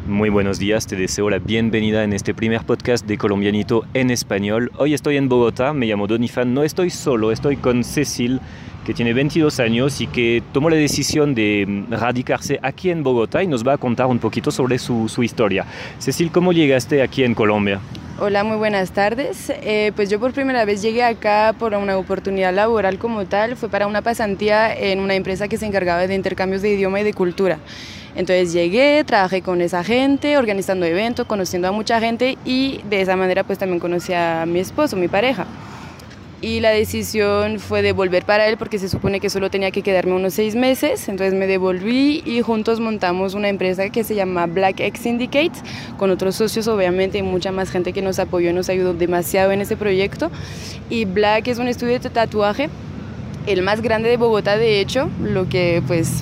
Muy buenos días, te deseo la bienvenida en este primer podcast de Colombianito en español. Hoy estoy en Bogotá, me llamo Donifan, no estoy solo, estoy con Cecil, que tiene 22 años y que tomó la decisión de radicarse aquí en Bogotá y nos va a contar un poquito sobre su historia. Cecil, ¿cómo llegaste aquí en Colombia? Hola, muy buenas tardes. Pues yo por primera vez llegué acá por una oportunidad laboral como tal, fue para una pasantía en una empresa que se encargaba de intercambios de idioma y de cultura. Entonces llegué, trabajé con esa gente, organizando eventos, conociendo a mucha gente y de esa manera pues también conocí a mi esposo, mi pareja. Y la decisión fue de volver para él porque se supone que solo tenía que quedarme unos 6 meses, entonces me devolví y juntos montamos una empresa que se llama Black X Syndicate, con otros socios obviamente y mucha más gente que nos apoyó y nos ayudó demasiado en ese proyecto. Y Black es un estudio de tatuaje, el más grande de Bogotá de hecho, lo que pues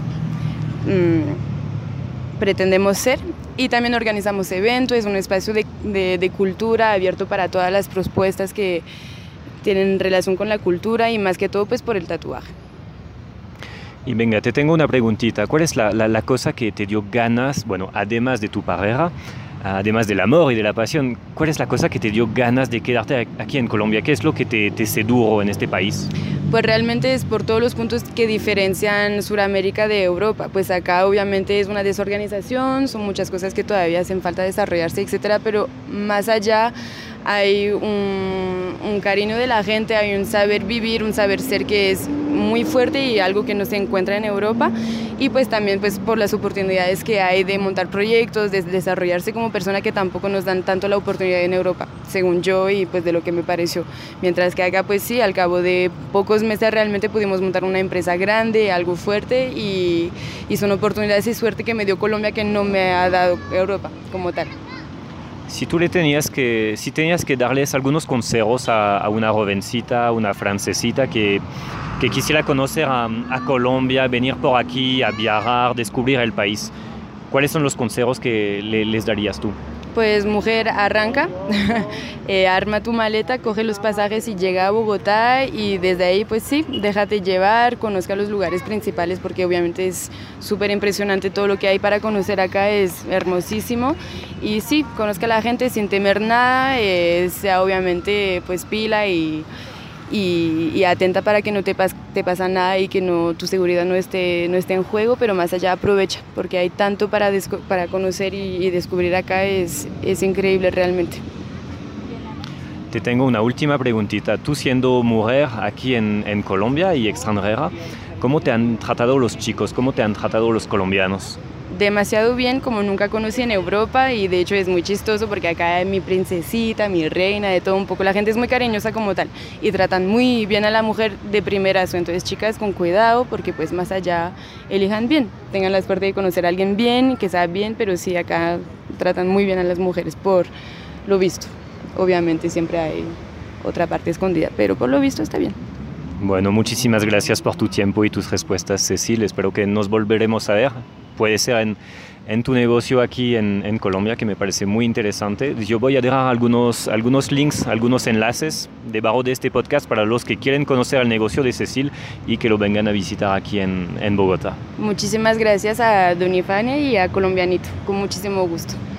pretendemos ser. Y también organizamos eventos, es un espacio de cultura abierto para todas las propuestas que tienen relación con la cultura y más que todo pues por el tatuaje. Y venga, te tengo una preguntita. ¿Cuál es la cosa que te dio ganas, bueno, además de tu pareja, además del amor y de la pasión, cuál es la cosa que te dio ganas de quedarte aquí en Colombia? ¿Qué es lo que te sedujo en este país? Pues realmente es por todos los puntos que diferencian Sudamérica de Europa. Pues acá obviamente es una desorganización, son muchas cosas que todavía hacen falta desarrollarse, etcétera, pero más allá hay un cariño de la gente, hay un saber vivir, un saber ser que es muy fuerte y algo que no se encuentra en Europa. Y pues también pues por las oportunidades que hay de montar proyectos, de desarrollarse como persona que tampoco nos dan tanto la oportunidad en Europa, según yo y pues de lo que me pareció. Mientras que acá pues sí, al cabo de pocos meses realmente pudimos montar una empresa grande, algo fuerte y son oportunidades y suerte que me dio Colombia que no me ha dado Europa como tal. Si tenías que darles algunos consejos a una jovencita, una francesita que quisiera conocer a Colombia, venir por aquí, a viajar, descubrir el país, ¿cuáles son los consejos que les darías tú? Pues mujer, arranca, arma tu maleta, coge los pasajes y llega a Bogotá y desde ahí pues sí, déjate llevar, conozca los lugares principales porque obviamente es súper impresionante todo lo que hay para conocer acá, es hermosísimo y sí, conozca a la gente sin temer nada, sea obviamente pues pila y atenta para que no te pasa nada y que tu seguridad no esté en juego, pero más allá aprovecha, porque hay tanto para conocer y descubrir acá, es increíble realmente. Te tengo una última preguntita. Tú siendo mujer aquí en Colombia y extranjera, ¿cómo te han tratado los chicos? ¿Cómo te han tratado los colombianos? Demasiado bien, como nunca conocí en Europa y de hecho es muy chistoso porque acá hay mi princesita, mi reina, de todo un poco, la gente es muy cariñosa como tal y tratan muy bien a la mujer de primerazo, entonces chicas con cuidado porque pues más allá elijan bien, tengan la suerte de conocer a alguien bien, que sea bien, pero sí acá tratan muy bien a las mujeres por lo visto, obviamente siempre hay otra parte escondida, pero por lo visto está bien. Bueno, muchísimas gracias por tu tiempo y tus respuestas, Cecil, espero que nos volveremos a ver. Puede ser en tu negocio aquí en Colombia, que me parece muy interesante. Yo voy a dejar algunos links, algunos enlaces debajo de este podcast para los que quieren conocer el negocio de Cecil y que lo vengan a visitar aquí en Bogotá. Muchísimas gracias a Donifania y a Colombianito, con muchísimo gusto.